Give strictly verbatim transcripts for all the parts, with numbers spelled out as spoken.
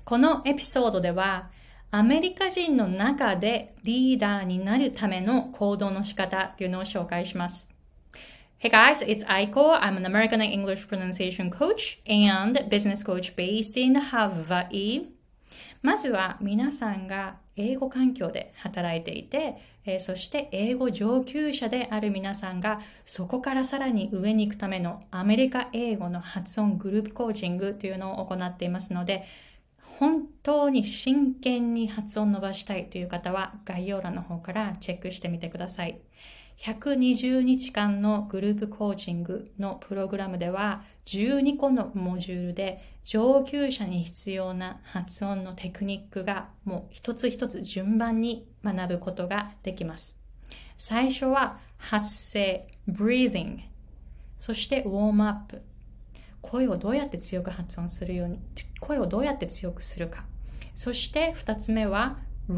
このエピソードでは、アメリカ人の中でリーダーになるための行動の仕方っていうのを紹介します。Hey guys, it's Aiko. I'm an American English pronunciation coach and business coach based in Hawaii. まずは皆さんが英語環境で働いていて、えー、そして英語上級者である皆さんがそこからさらに上に行くためのアメリカ英語の発音グループコーチングというのを行っていますので、本当に真剣に発音伸ばしたいという方は概要欄の方からチェックしてみてください。ひゃくにじゅうにちかんのグループコーチングのプログラムではじゅうにこのモジュールで上級者に必要な発音のテクニックがもう一つ一つ順番に学ぶことができます。最初は発声、breathing、そしてウォームアップ。声をどうやって強く発音するように、声をどうやって強くするか。そして二つ目は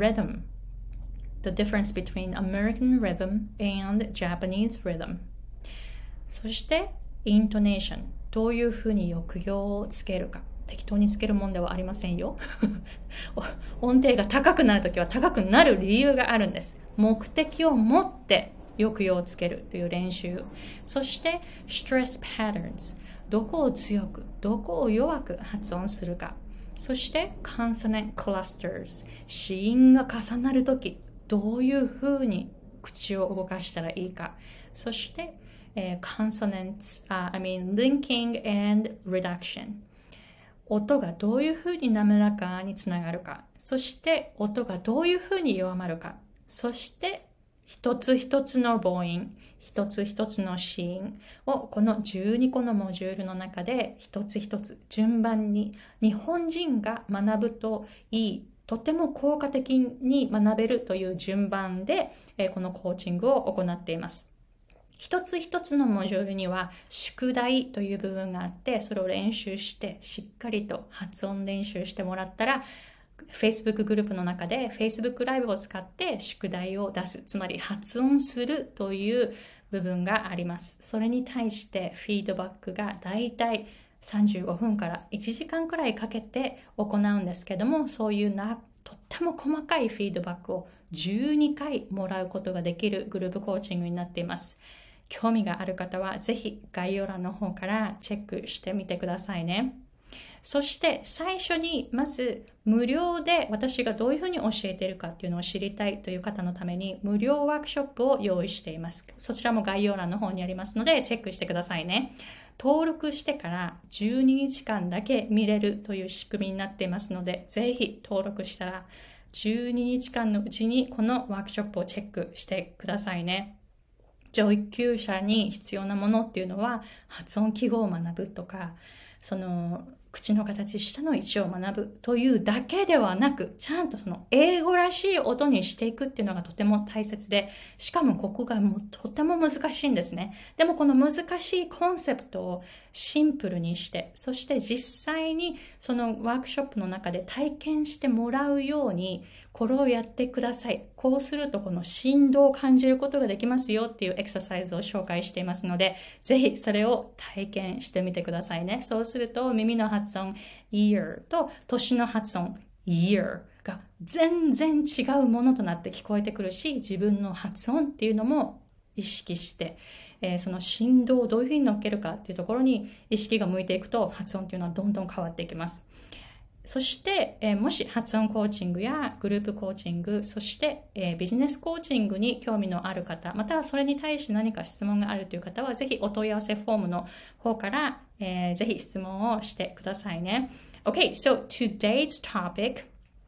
rhythm。The difference between American rhythm and Japanese rhythm. そして intonation。どういうふうに抑揚をつけるか。適当につけるもんではありませんよ。音程が高くなるときは高くなる理由があるんです。目的を持って抑揚をつけるという練習。そして stress patterns。どこを強く、どこを弱く発音するか。そして consonant clusters。子音が重なるとき、どういうふうに口を動かしたらいいか。そして、えー、consonants、uh, I mean linking and reduction。音がどういうふうに滑らかにつながるか。そして音がどういうふうに弱まるか。そして一つ一つの母音、一つ一つの子音をこのじゅうにこのモジュールの中で一つ一つ順番に日本人が学ぶといい。とても効果的に学べるという順番で、えー、このコーチングを行っています。一つ一つのモジュールには宿題という部分があって、それを練習してしっかりと発音練習してもらったら、Facebook グループの中で Facebook ライブを使って宿題を出す、つまり発音するという部分があります。それに対してフィードバックがだいたいさんじゅうごふんからいちじかんくらいかけて行うんですけども、そういうなとっても細かいフィードバックをじゅうにかいもらうことができるグループコーチングになっています。興味がある方はぜひ概要欄の方からチェックしてみてくださいね。そして最初にまず無料で私がどういうふうに教えているかっていうのを知りたいという方のために無料ワークショップを用意しています。そちらも概要欄の方にありますのでチェックしてくださいね。登録してからじゅうににちかんだけ見れるという仕組みになっていますので、ぜひ登録したらじゅうににちかんのうちにこのワークショップをチェックしてくださいね。上級者に必要なものっていうのは発音記号を学ぶとか、その口の形、下の位置を学ぶというだけではなく、ちゃんとその英語らしい音にしていくっていうのがとても大切で、しかもここがもうとても難しいんですね。でもこの難しいコンセプトをシンプルにして、そして実際にそのワークショップの中で体験してもらうように、これをやってください。こうするとこの振動を感じることができますよっていうエクササイズを紹介していますので、ぜひそれを体験してみてくださいね。そうすると耳の発音 ear と年の発音 year が全然違うものとなって聞こえてくるし、自分の発音っていうのも意識して、えー、その振動をどういうふうに乗っけるかっていうところに意識が向いていくと発音っていうのはどんどん変わっていきます。そして、えー、もし発音コーチングやグループコーチング、そして、えー、ビジネスコーチングに興味のある方、またはそれに対して何か質問があるという方は、ぜひお問い合わせフォームの方から、えー、ぜひ質問をしてくださいね。Okay, so today's topic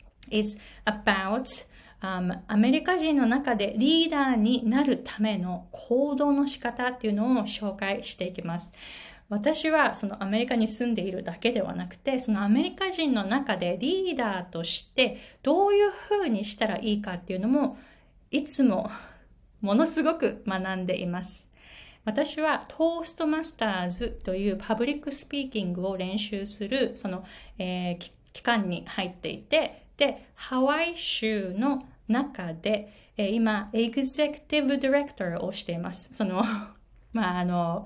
is about、um, アメリカ人の中でリーダーになるための行動の仕方っていうのを紹介していきます。私はそのアメリカに住んでいるだけではなくて、そのアメリカ人の中でリーダーとしてどういうふうにしたらいいかっていうのもいつもものすごく学んでいます。私はトーストマスターズというパブリックスピーキングを練習するその、えー、期間に入っていて、で、ハワイ州の中で、えー、今エグゼクティブディレクターをしています。その、まああの、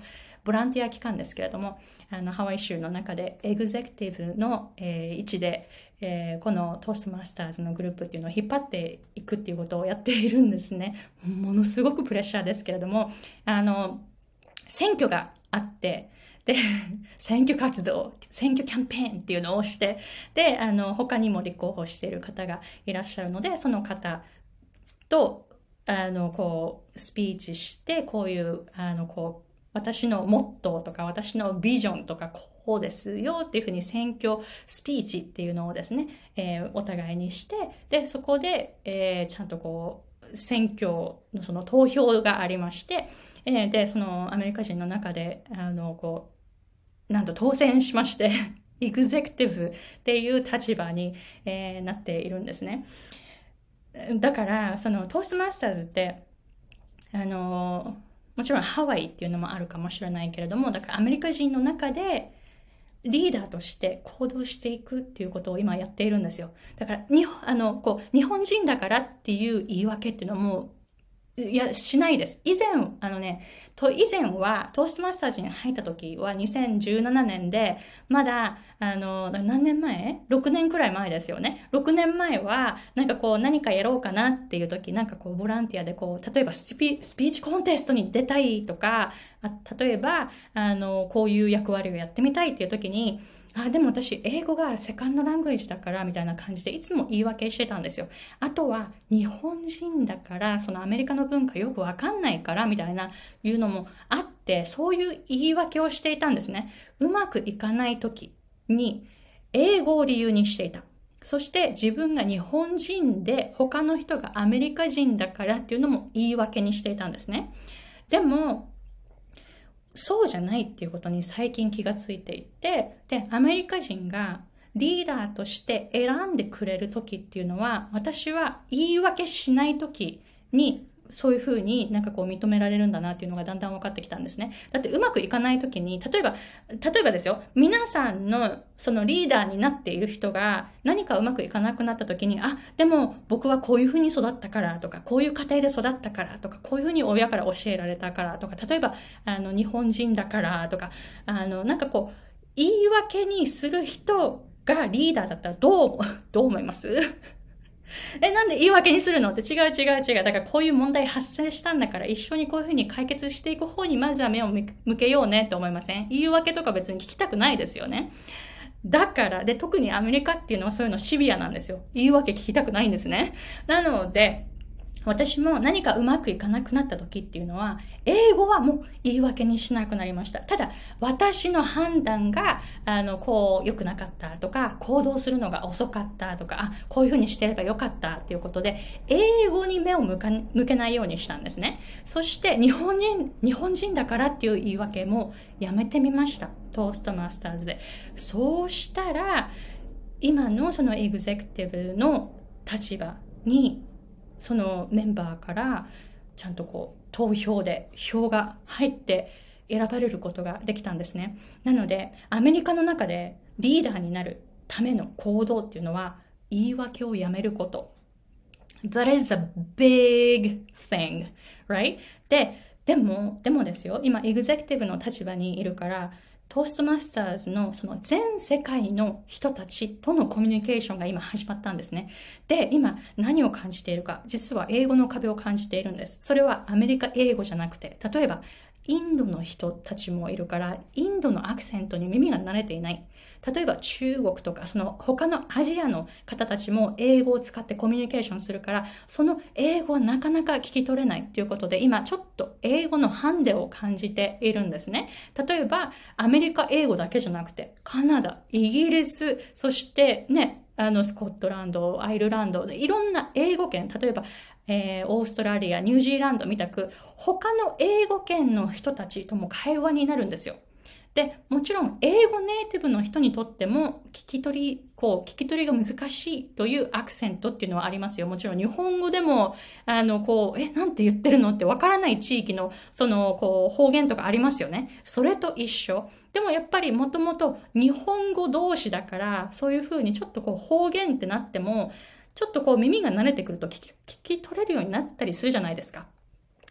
ボランティア機関ですけれども、あの、ハワイ州の中でエグゼクティブの、えー位置で、えーこのトーストマスターズのグループっていうのを引っ張っていくっていうことをやっているんですね。ものすごくプレッシャーですけれども、あの、選挙があって、で、選挙活動、選挙キャンペーンっていうのをして、で、あの、他にも立候補している方がいらっしゃるので、その方と、あの、こう、スピーチして、こういう、あの、こう、私のモットーとか、私のビジョンとか、こうですよっていうふうに選挙スピーチっていうのをですね、えーお互いにして、で、そこで、えーちゃんとこう、選挙のその投票がありまして、えーで、そのアメリカ人の中で、あの、こう、なんと当選しまして、エグゼクティブっていう立場に、えーなっているんですね。だから、そのトーストマスターズって、あの、もちろんハワイっていうのもあるかもしれないけれども、だからアメリカ人の中でリーダーとして行動していくっていうことを今やっているんですよ。だから、にあの、こう、日本人だからっていう言い訳っていうのはもう、いや、しないです。以前、あのね、と、以前は、トーストマスターズに入った時はにせんじゅうななねんで、まだ、あの、何年前 ?ろく 年くらい前ですよね。ろくねんまえは、なんかこう、何かやろうかなっていう時、なんかこう、ボランティアでこう、例えばスピ、スピーチコンテストに出たいとか、あ例えば、あの、こういう役割をやってみたいっていう時に、あ、でも私、英語がセカンドラングエージだから、みたいな感じで、いつも言い訳してたんですよ。あとは、日本人だから、そのアメリカの文化よくわかんないから、みたいな、いうのもあって、そういう言い訳をしていたんですね。うまくいかない時に、英語を理由にしていた。そして自分が日本人で他の人がアメリカ人だからっていうのも言い訳にしていたんですね。でも、そうじゃないっていうことに最近気がついていて、で、アメリカ人がリーダーとして選んでくれる時っていうのは、私は言い訳しない時に、そういうふうになんかこう認められるんだなっていうのがだんだん分かってきたんですね。だってうまくいかない時に、例えば、例えばですよ、皆さんのそのリーダーになっている人が何かうまくいかなくなった時に、あ、でも僕はこういうふうに育ったからとか、こういう家庭で育ったからとか、こういうふうに親から教えられたからとか、例えば、あの、日本人だからとか、あの、なんかこう、言い訳にする人がリーダーだったらどう、どう思いますえ、なんで言い訳にするのって違う違う違う。だからこういう問題発生したんだから一緒にこういうふうに解決していく方にまずは目を向けようねって思いません？言い訳とか別に聞きたくないですよね。だから、で、特にアメリカっていうのはそういうのシビアなんですよ。言い訳聞きたくないんですね。なので、私も何かうまくいかなくなった時っていうのは、英語はもう言い訳にしなくなりました。ただ、私の判断が、あの、こう、良くなかったとか、行動するのが遅かったとか、あ、こういうふうにしてればよかったっていうことで、英語に目を向か向けないようにしたんですね。そして、日本人、日本人だからっていう言い訳もやめてみました。トーストマスターズで。そうしたら、今のそのエグゼクティブの立場に、そのメンバーからちゃんとこう投票で票が入って選ばれることができたんですね。なのでアメリカの中でリーダーになるための行動っていうのは言い訳をやめること。That is a big thing, right? で、でも、でもですよ、今エグゼクティブの立場にいるから、トーストマスターズのその全世界の人たちとのコミュニケーションが今始まったんですね。で、今何を感じているか、実は英語の壁を感じているんです。それはアメリカ英語じゃなくて、例えばインドの人たちもいるから、インドのアクセントに耳が慣れていない。例えば中国とか、その他のアジアの方たちも英語を使ってコミュニケーションするから、その英語はなかなか聞き取れないということで、今ちょっと英語のハンデを感じているんですね。例えば、アメリカ英語だけじゃなくて、カナダ、イギリス、そしてね、あの、スコットランド、アイルランド、いろんな英語圏、例えば、えー、オーストラリア、ニュージーランドみたく、他の英語圏の人たちとも会話になるんですよ。で、もちろん、英語ネイティブの人にとっても、聞き取り、こう、聞き取りが難しいというアクセントっていうのはありますよ。もちろん、日本語でも、あの、こう、え、なんて言ってるのってわからない地域の、その、こう、方言とかありますよね。それと一緒。でもやっぱりもともと日本語同士だから、そういうふうにちょっとこう、方言ってなっても、ちょっとこう耳が慣れてくると聞き、聞き取れるようになったりするじゃないですか。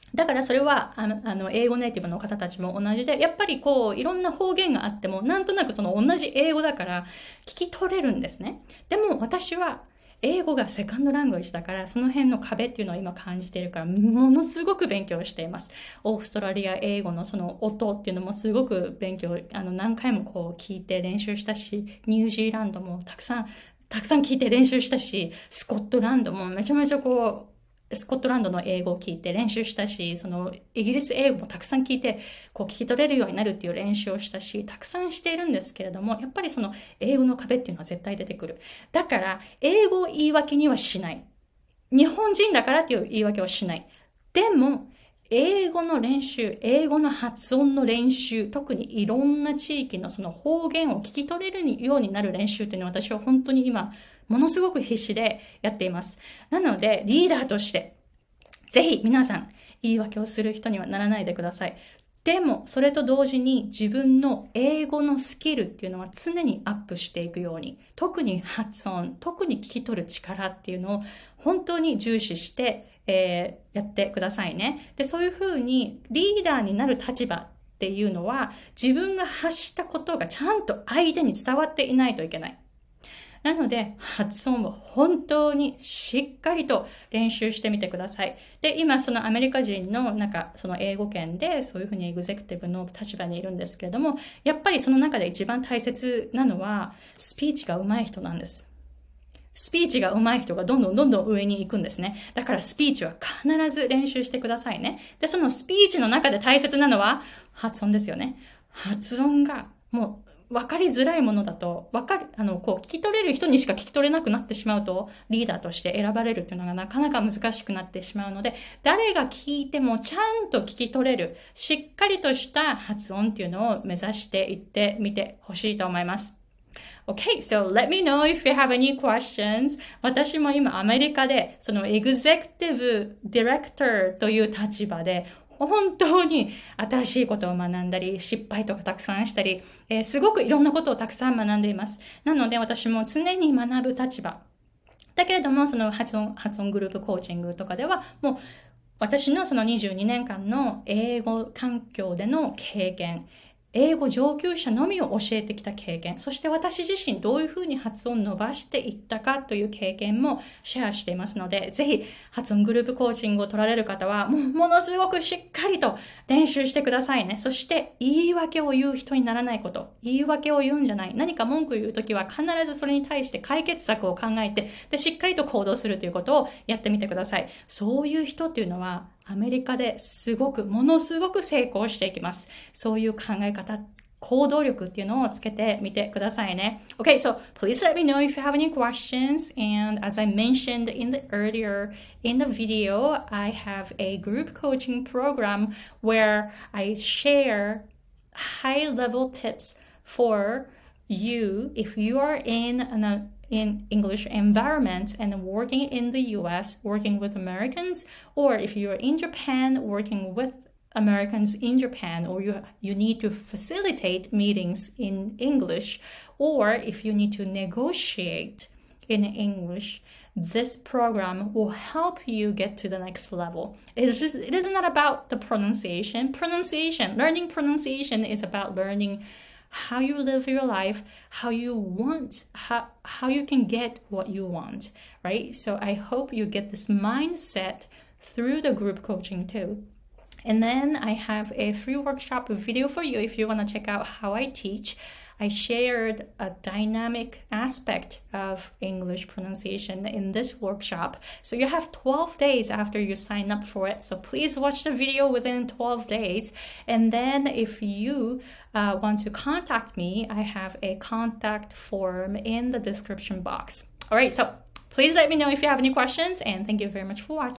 だからそれは、あの、あの英語ネイティブの方たちも同じで、やっぱりこう、いろんな方言があっても、なんとなくその同じ英語だから聞き取れるんですね。でも私は、英語がセカンドラングエッジだから、その辺の壁っていうのを今感じているから、ものすごく勉強しています。オーストラリア英語のその音っていうのもすごく勉強、あの、何回もこう聞いて練習したし、ニュージーランドもたくさん、たくさん聞いて練習したし、スコットランドもめちゃめちゃこう、スコットランドの英語を聞いて練習したし、そのイギリス英語もたくさん聞いて、こう聞き取れるようになるっていう練習をしたし、たくさんしているんですけれども、やっぱりその英語の壁っていうのは絶対出てくる。だから、英語を言い訳にはしない。日本人だからっていう言い訳はしない。でも、英語の練習、英語の発音の練習、特にいろんな地域のその方言を聞き取れるようになる練習っていうのは私は本当に今、ものすごく必死でやっています。なので、リーダーとして、ぜひ皆さん、言い訳をする人にはならないでください。でも、それと同時に自分の英語のスキルっていうのは常にアップしていくように、特に発音、特に聞き取る力っていうのを本当に重視して、えー、やってくださいね。で、そういうふうにリーダーになる立場っていうのは、自分が発したことがちゃんと相手に伝わっていないといけない。なので、発音を本当にしっかりと練習してみてください。で、今、そのアメリカ人の、なんか、その英語圏で、そういうふうにエグゼクティブの立場にいるんですけれども、やっぱりその中で一番大切なのは、スピーチが上手い人なんです。スピーチが上手い人がどんどんどんどん上に行くんですね。だからスピーチは必ず練習してくださいね。で、そのスピーチの中で大切なのは、発音ですよね。発音が、もう、分かりづらいものだと、分かる、あの、こう、聞き取れる人にしか聞き取れなくなってしまうと、リーダーとして選ばれるっていうのがなかなか難しくなってしまうので、誰が聞いてもちゃんと聞き取れる、しっかりとした発音っていうのを目指していってみてほしいと思います。Okay, so let me know if you have any questions. 私も今アメリカで、そのエグゼクティブディレクターという立場で、本当に新しいことを学んだり、失敗とかたくさんしたり、えー、すごくいろんなことをたくさん学んでいます。なので私も常に学ぶ立場。だけれども、その発音、発音グループコーチングとかでは、もう私のそのにじゅうにねんかんの英語環境での経験、英語上級者のみを教えてきた経験、そして私自身どういうふうに発音を伸ばしていったかという経験もシェアしていますので、ぜひ発音グループコーチングを取られる方は、もうものすごくしっかりと練習してくださいね。そして言い訳を言う人にならないこと。言い訳を言うんじゃない。何か文句言うときは必ずそれに対して解決策を考えて、で、しっかりと行動するということをやってみてください。そういう人っていうのは、アメリカですごく、ものすごく成功していきます。そういう考え方、行動力っていうのをつけてみてくださいね。Okay, so please let me know if you have any questions. And as I mentioned in the earlier in the video, I have a group coaching program where I share high-level tips for you if you are in an in English environment and working in the U S, working with Americans, or if you're in Japan, working with Americans in Japan, or you, you need to facilitate meetings in English, or if you need to negotiate in English, this program will help you get to the next level. It is just, it is not about the pronunciation. Pronunciation, learning pronunciation is about learning how you live your life, how you want, how, how you can get what you want, right? So I hope you get this mindset through the group coaching too. And then I have a free workshop video for you if you want to check out how I teach. I shared a dynamic aspect of English pronunciation in this workshop. So you have twelve days after you sign up for it. So please watch the video within twelve days. And then if you uh, want to contact me, I have a contact form in the description box. All right, so please let me know if you have any questions, and thank you very much for watching.